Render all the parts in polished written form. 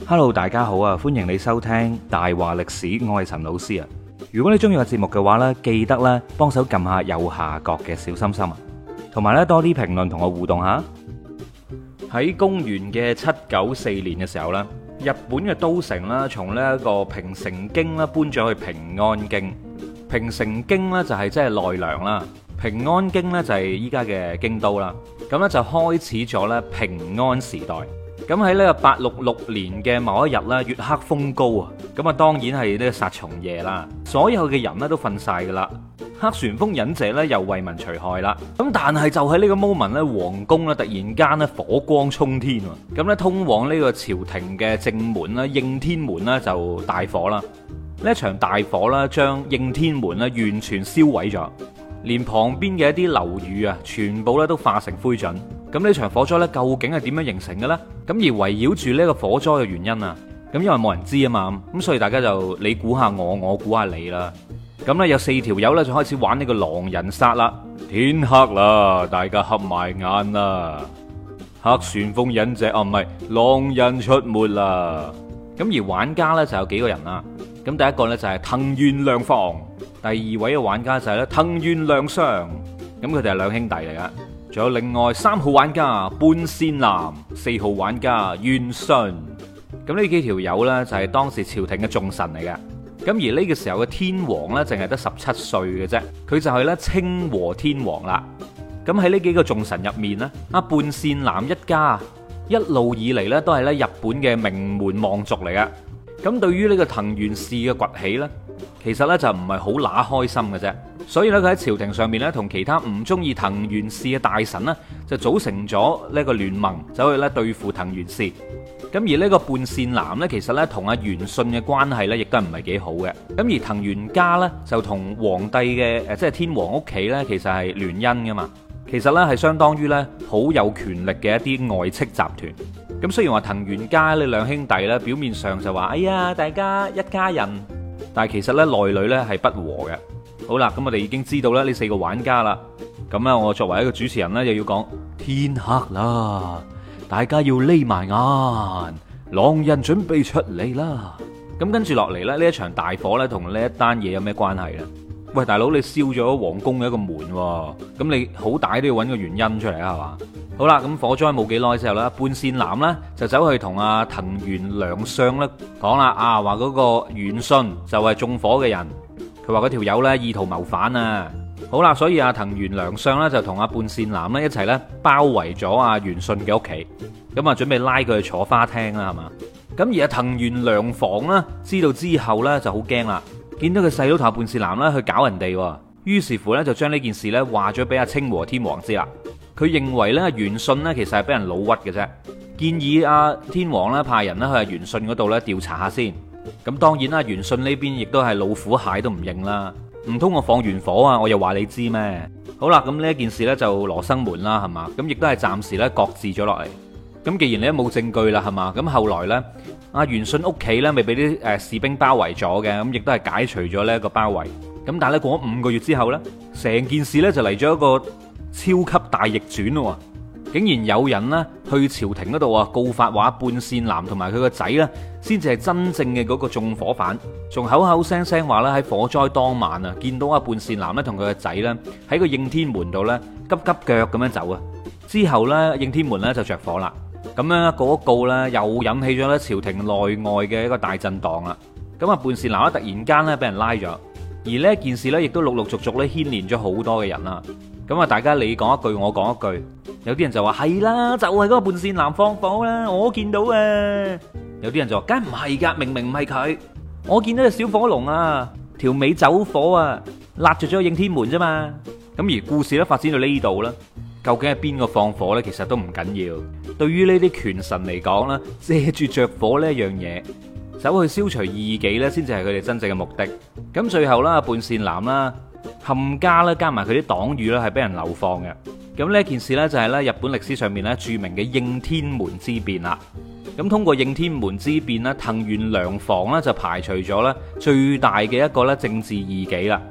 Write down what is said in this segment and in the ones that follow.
Hello，大家好啊！歡迎你收聽大話歷史，我係陳老師啊。如果你中意個節目嘅話呢，記得咧幫手撳下右下角嘅小心心啊，同埋咧多啲評論同我互動下。喺公元嘅794年嘅時候咧，日本嘅都城啦，從呢一個平城京啦搬咗去平安京。平城京咧就係即係奈良啦，平安京咧就係依家嘅京都啦。咁咧就開始咗咧平安時代。咁喺呢個866年嘅某一日咧，月黑風高啊，咁啊當然係呢個殺蟲夜啦，所有嘅人咧都瞓晒噶啦。黑旋風忍者咧又為民除害啦。咁但係就喺呢個 moment 咧，皇宮咧突然間咧火光衝天喎。咁咧通往呢個朝廷嘅正門啦，應天門啦就大火啦。呢一場大火啦，將應天門咧完全燒毀咗，連旁邊嘅一啲樓宇啊，全部咧都化成灰燼。咁呢場火災咧，究竟係點樣形成嘅咧？咁而圍繞住呢個火災嘅原因啊，咁因為冇人知啊嘛，咁所以大家就你估下我，我估下你啦。咁咧有4條友咧就開始玩呢個狼人殺啦。天黑啦，大家合埋眼啦。黑旋風忍者唔係狼人出沒啦。咁而玩家咧就有幾個人啦。咁第一個咧就係藤原良房，第二位嘅玩家就係咧藤原良相。咁佢哋係兩兄弟嚟噶。仲有另外3號玩家半仙男，4號玩家元信。咁呢幾條友呢，就係當時朝廷嘅重臣嚟嘅。咁而呢個時候嘅天皇呢，淨係得17歲嘅啫，佢就係咧清和天皇啦。咁喺呢幾個重臣入面呢，半仙男一家一路以嚟呢，都係咧日本嘅名門望族嚟嘅。咁對於呢個藤原氏嘅崛起呢，其實呢，就唔係好乸開心嘅啫。所以咧，佢喺朝廷上面咧，同其他唔中意藤原氏嘅大臣呢，就組成咗呢個聯盟，走去咧對付藤原氏。咁而呢個半仙男呢，其實咧同阿元信嘅關係咧，亦都唔係幾好嘅。咁而藤原家呢，就同皇帝嘅即係天皇屋企呢，其實係聯姻噶嘛。其實呢，係相當於呢好有權力嘅一啲外戚集團。咁雖然話藤原家呢兩兄弟呢，表面上就話哎呀大家一家人，但係其實呢，內裏呢係不和嘅。好啦，咁我哋已經知道啦呢4個玩家啦。咁咧，我作為一個主持人呢，又要講天黑啦，大家要匿埋眼，狼人準備出嚟啦。咁跟住落嚟咧，呢一場大火呢，同呢一單嘢有咩關係咧？喂，大佬，你燒咗皇宮嘅一個門，咁你好歹都要揾個原因出嚟啊，係嘛？好啦，咁火災冇幾耐之後咧，半仙男呢，就走去同阿藤原良相咧講啦，話嗰個元信就係縱火嘅人。佢話嗰條友呢，意圖謀反啊！好啦，所以阿藤原良相呢，就同阿半仙男呢一齊呢包圍咗阿元信嘅屋企，咁啊準備拉佢去坐花廳啦，係嘛？咁而阿藤原良房呢，知道之後呢就好驚啦，見到佢細佬同阿半仙男呢去搞人哋，於是乎呢，就將呢件事呢話咗俾阿清和天皇知啦。佢認為呢，元信呢其實係俾人老屈嘅啫，建議阿天皇呢派人呢去阿元信嗰度呢調查下先。咁當然啦，元信呢邊亦都係老虎蟹都唔認啦，唔通我放完火啊，我又話你知咩？好啦，咁呢一件事呢就羅生門啦，係嘛？咁亦都係暫時呢擱置咗落嚟。咁既然你都冇證據啦，係嘛？咁後來呢，阿元信屋企呢咪俾啲士兵包圍咗嘅，咁亦都係解除咗呢一個包圍。咁但係咧過咗5個月之後呢，成件事呢就嚟咗一個超級大逆轉咯。竟然有人呢去朝廷嗰度告發話半仙男同埋佢個仔呢先至係真正嘅嗰個縱火犯，仲口口聲聲話咧喺火災當晚啊見到阿半仙男咧同佢個仔呢喺個應天門度呢急急腳咁樣走啊，之後呢，應天門呢就着火啦，咁樣嗰告呢又引起咗咧朝廷內外嘅一個大震盪啦。咁啊半仙男咧突然間呢俾人拉咗，而呢件事呢亦都陸陸續續咧牽連咗好多嘅人啦。咁啊大家你講一句我講一句。有啲人就話係啦，就係嗰個半仙男放火啦，我見到啊。有啲人就話梗唔係噶，明明唔係佢，我見到隻小火龍啊，條尾走火啊，辣着咗應天門啫嘛。咁而故事咧發展到呢度啦，究竟係邊個放火呢？其實都唔緊要。對於呢啲權臣嚟講啦，借住着火呢一樣嘢，走去消除異己呢，先至係佢哋真正嘅目的。咁最後啦，半仙男啦，冚家啦，加埋佢啲黨羽啦，係俾人流放嘅。咁呢件事呢，就係咧日本歷史上面咧著名嘅應天門之變啦。咁通過應天門之變咧，藤原良房咧就排除咗咧最大嘅一個咧政治異己啦。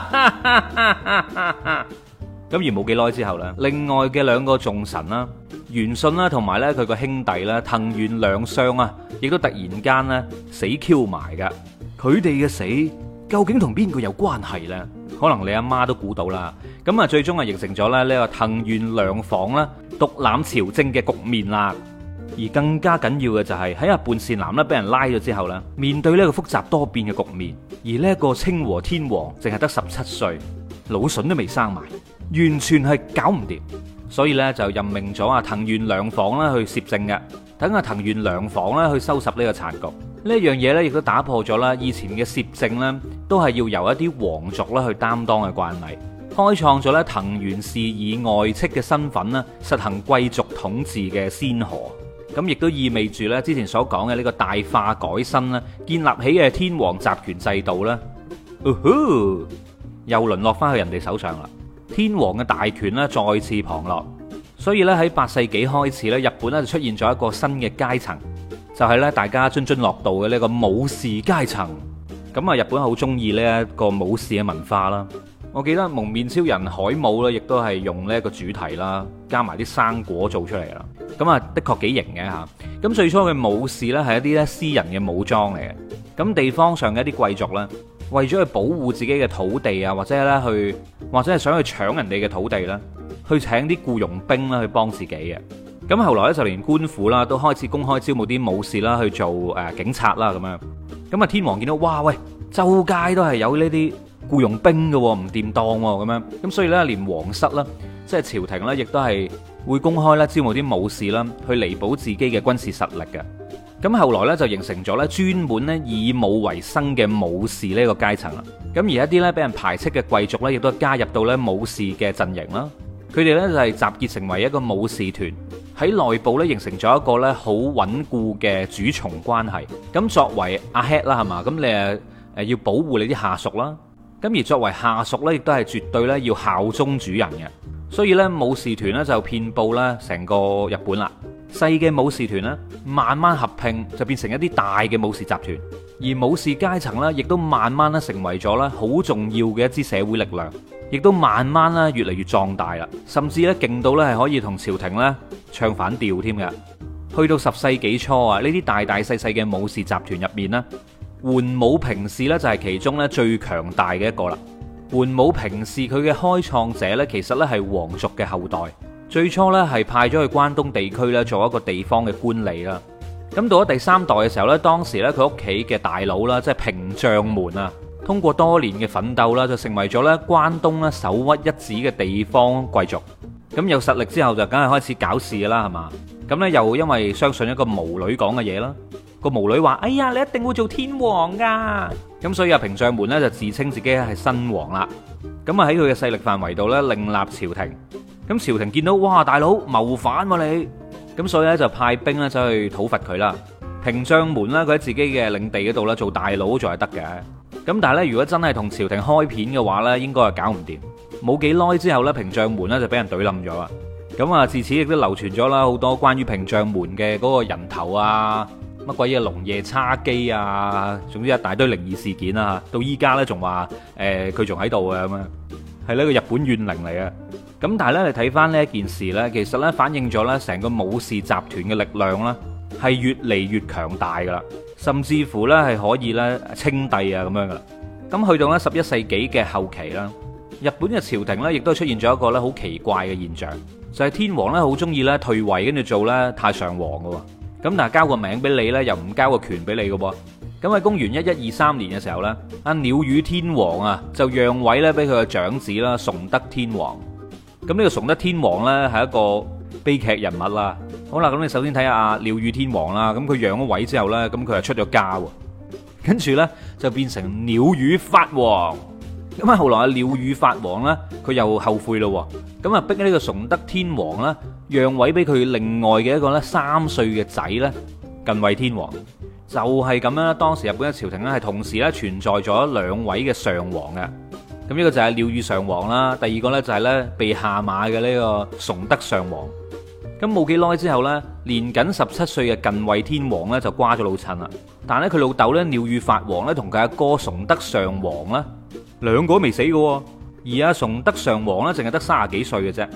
咁而冇幾耐之後咧，另外嘅2個重臣啦， 元信啦，同埋咧佢個兄弟啦，藤原良相啊，亦都突然間咧死 Q 埋噶。佢哋嘅死究竟同邊個有關係呢？可能你阿媽都估到啦。咁啊，最終啊形成咗咧呢個藤原良房啦獨攬朝政嘅局面啦。而更加緊要嘅就係喺阿半善男咧俾人拉咗之後咧，面對呢個複雜多變嘅局面，而呢一個清和天皇淨係得17歲，腦筍都未生埋，完全係搞唔掂。所以咧就任命咗阿藤原良房啦去攝政嘅，等阿藤原良房啦去收拾呢個殘局。呢一樣嘢咧亦都打破咗啦以前嘅攝政咧都係要由一啲皇族啦去擔當嘅慣例，開創咗咧藤原氏以外戚嘅身份啦實行貴族統治嘅先河。咁亦都意味住咧之前所講嘅呢個大化改新啦，建立起嘅天皇集權制度啦，又淪落翻去人哋手上啦。天皇嘅大權咧再次旁落，所以咧喺8世紀開始咧，日本咧就出現咗一個新嘅階層，就係咧大家津津樂道嘅呢個武士階層。咁啊，日本好中意呢一個武士嘅文化啦。我記得蒙面超人海姆咧，亦都係用呢一個主題啦，加埋啲生果做出嚟啦。咁啊，的確幾型嘅嚇。咁最初嘅武士咧係一啲咧私人嘅武裝嚟嘅。咁地方上嘅一啲貴族咧，為咗去保護自己嘅土地啊，或者係想去搶人哋嘅土地啦，去請啲僱傭兵啦去幫自己嘅。咁後來咧就連官府啦都開始公開招募啲武士啦去做警察啦咁樣。咁啊，天皇見到哇喂，周街都係有呢啲僱傭兵嘅，唔掂當咁樣。咁所以咧，連皇室啦，即係朝廷咧，亦都係會公開咧招募啲武士啦，去彌補自己嘅軍事實力嘅。咁後來咧就形成咗咧專門咧以武為生嘅武士呢個階層啦。咁而一啲咧俾人排斥嘅貴族咧，亦都加入到咧武士嘅陣營啦。佢哋咧就係集結成為一個武士團，喺內部咧形成咗一個咧好穩固嘅主從關係。咁作為阿 head 啦，係嘛？咁你要保護你啲下屬啦。咁而作為下屬咧，亦都係絕對咧要效忠主人嘅。所以咧武士團咧就遍佈咧成個日本啦。細嘅武士團咧，慢慢合併就變成一啲大嘅武士集團，而武士階層咧，亦都慢慢咧成為咗咧好重要嘅一支社會力量，亦都慢慢咧越嚟越壯大啦，甚至咧勁到咧係可以同朝廷咧唱反調添嘅。去到10世紀初啊，呢啲大大細細嘅武士集團入面咧，桓武平氏咧就係其中咧最強大嘅一個啦。桓武平氏佢嘅開創者咧，其實咧係皇族嘅後代。最初咧係派咗去關東地區咧做一個地方嘅官吏啦。咁到咗第3代嘅時候咧，當時咧佢屋企嘅大佬啦，即係平將門啊，通過多年嘅奮鬥啦，就成為咗咧關東咧首屈一指嘅地方貴族。咁有實力之後就梗係開始搞事啦，係嘛？咁咧又因為相信一個巫女講嘅嘢啦，個巫女話：哎呀，你一定會做天皇噶。咁所以平將門咧就自稱自己係新王啦。咁啊喺佢嘅勢力範圍度咧另立朝廷。咁朝廷見到哇，大佬謀反喎你，咁所以咧就派兵咧走去討伐佢啦。平將門咧佢喺自己嘅領地嗰度咧做大佬仲係得嘅。咁但係咧如果真係同朝廷開片嘅話咧，應該係搞唔掂。冇幾耐之後咧，平將門咧就俾人懟冧咗啦。咁啊自此亦都流傳咗啦好多關於平將門嘅嗰個人頭啊，乜鬼嘢龍夜叉姬啊，總之一大堆靈異事件啊。到依家咧仲話佢仲喺度嘅咁樣，係呢個日本怨靈嚟嘅。咁但係咧，你睇翻呢一件事呢，其實呢反映咗呢成個武士集團嘅力量呢係越嚟越強大噶啦，甚至乎呢係可以呢稱帝啊咁樣噶啦。咁去到呢11世紀嘅後期啦，日本嘅朝廷呢亦都出現咗一個呢好奇怪嘅現象，就係天皇呢好中意呢退位跟住做呢太上皇噶喎。咁但係交個名俾你呢，又唔交個權俾你噶噃。咁喺公元1123年嘅時候呢，阿鳥羽天皇啊就讓位呢俾佢嘅長子啦崇德天皇。咁呢個崇德天皇呢係一個悲劇人物啦。好啦，咁你首先睇下阿鳥羽天皇啦。咁佢讓咗位之後呢，咁佢就出咗家喎，跟住呢，就變成鳥羽法皇。咁啊後來阿鳥羽法皇呢，佢又後悔咯，咁啊逼呢個崇德天皇呢，讓位俾佢另外嘅一個呢3歲嘅仔呢，近衛天皇。就係咁樣啦。當時日本嘅朝廷呢，係同時呢存在咗2位嘅上皇嘅。咁呢個就係鳥羽上皇啦，第二個呢，就係呢被下馬嘅呢個崇德上皇。咁冇幾耐之後呢，年僅17歲嘅近衛天皇呢，就瓜咗老襯啦。但係咧佢老豆呢，鳥羽法皇呢，同佢阿哥崇德上皇呢，兩個都未死嘅，而阿崇德上皇呢，淨係得30幾歲嘅啫。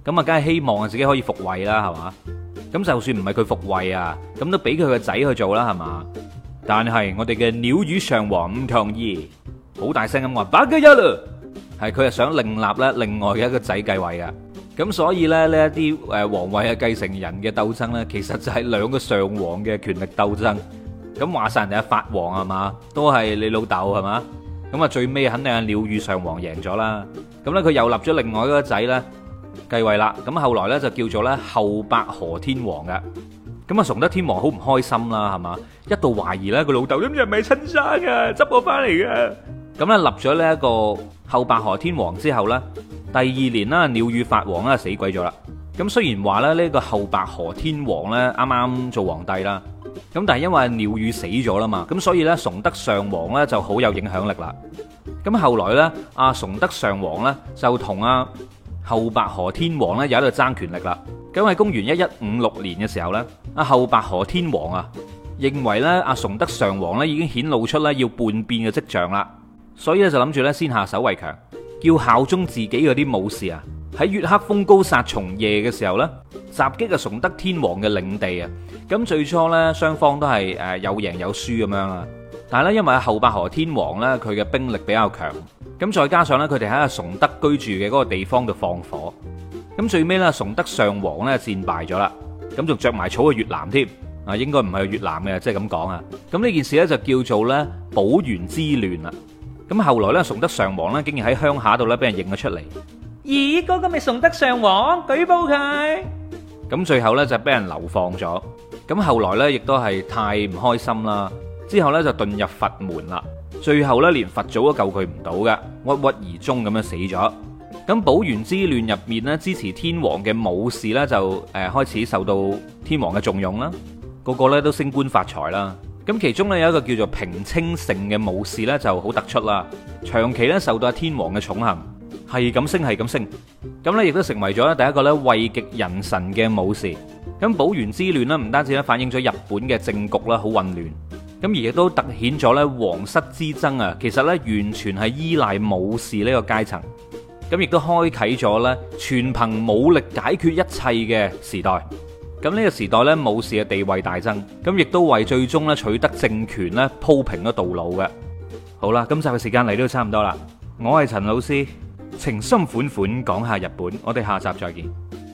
咁啊，梗係希望自己可以復位啦，係嘛？咁就算唔係佢復位啊，咁都俾佢個仔去做啦，係嘛？但係我哋嘅鳥羽上皇唔同意，好大聲咁話八加一啦，係佢係想另立咧另外嘅一個仔繼位嘅。咁所以咧呢一啲皇位嘅繼承人嘅鬥爭咧，其實就係兩個上皇嘅權力鬥爭。咁話晒人哋係法皇係嘛，都係你老豆係嘛？咁啊最尾肯定係鳥羽上皇贏咗啦。咁咧佢又立咗另外一個仔咧繼位啦。咁後來咧就叫做咧後白河天皇嘅。咁啊崇德天皇好唔開心啦，係嘛？一度懷疑咧個老豆咁係咪親生啊，執我翻嚟嘅。咁咧立咗呢一個後白河天皇之後咧，第二年啦鳥羽法皇啦死鬼咗啦。咁雖然話咧呢個後白河天皇咧啱啱做皇帝啦。咁但係因為鳥羽死咗啦嘛，咁所以咧崇德上皇咧就好有影響力啦。咁後來咧阿崇德上皇咧就同阿後白河天皇咧有喺度爭權力啦。咁喺公元1156年嘅時候咧，阿後白河天皇啊認為咧阿崇德上皇咧已經顯露出咧要叛變嘅跡象啦，所以咧就諗住咧先下手為強，叫效忠自己嗰啲武士啊喺月黑風高殺蟲夜嘅時候咧襲擊阿崇德天皇嘅領地啊。咁最初咧雙方都係有贏有輸咁樣啦，但係咧因為後白河天皇咧佢嘅兵力比較強，咁再加上咧佢哋喺阿崇德居住嘅嗰個地方度放火，咁最尾咧崇德上皇咧戰敗咗啦，咁仲着埋草去越南添啊，應該唔係去越南嘅，即係咁講啊。咁呢件事咧就叫做咧保元之亂啦。咁後來咧崇德上皇咧竟然喺鄉下度咧俾人認咗出嚟，咦嗰個咪崇德上皇，舉報佢。咁最後咧就俾人流放咗。咁後來咧亦都係太唔開心啦，之後咧就遁入佛門啦。最後咧連佛祖都救佢唔到嘅，鬱鬱而終咁樣死咗。咁保元之亂入面咧，支持天皇嘅武士咧就開始受到天皇嘅重用啦，個個咧都升官發財啦。咁其中咧有一個叫做平清盛嘅武士咧就好突出啦，長期咧受到天皇嘅寵幸，係咁升係咁升，咁咧亦都成為咗第一個咧位極人臣嘅武士。咁保元之亂咧唔單止咧反映咗日本嘅政局啦好混亂，咁而亦都突顯咗咧皇室之爭啊，其實咧完全係依賴武士呢個階層。咁亦都開啟咗咧全憑武力解決一切嘅時代。咁呢個時代咧武士嘅地位大增，咁亦都為最終咧取得政權咧鋪平咗道路嘅。好啦，今集嘅時間嚟到差唔多啦，我係陳老師，情深款款講下日本，我哋下集再見。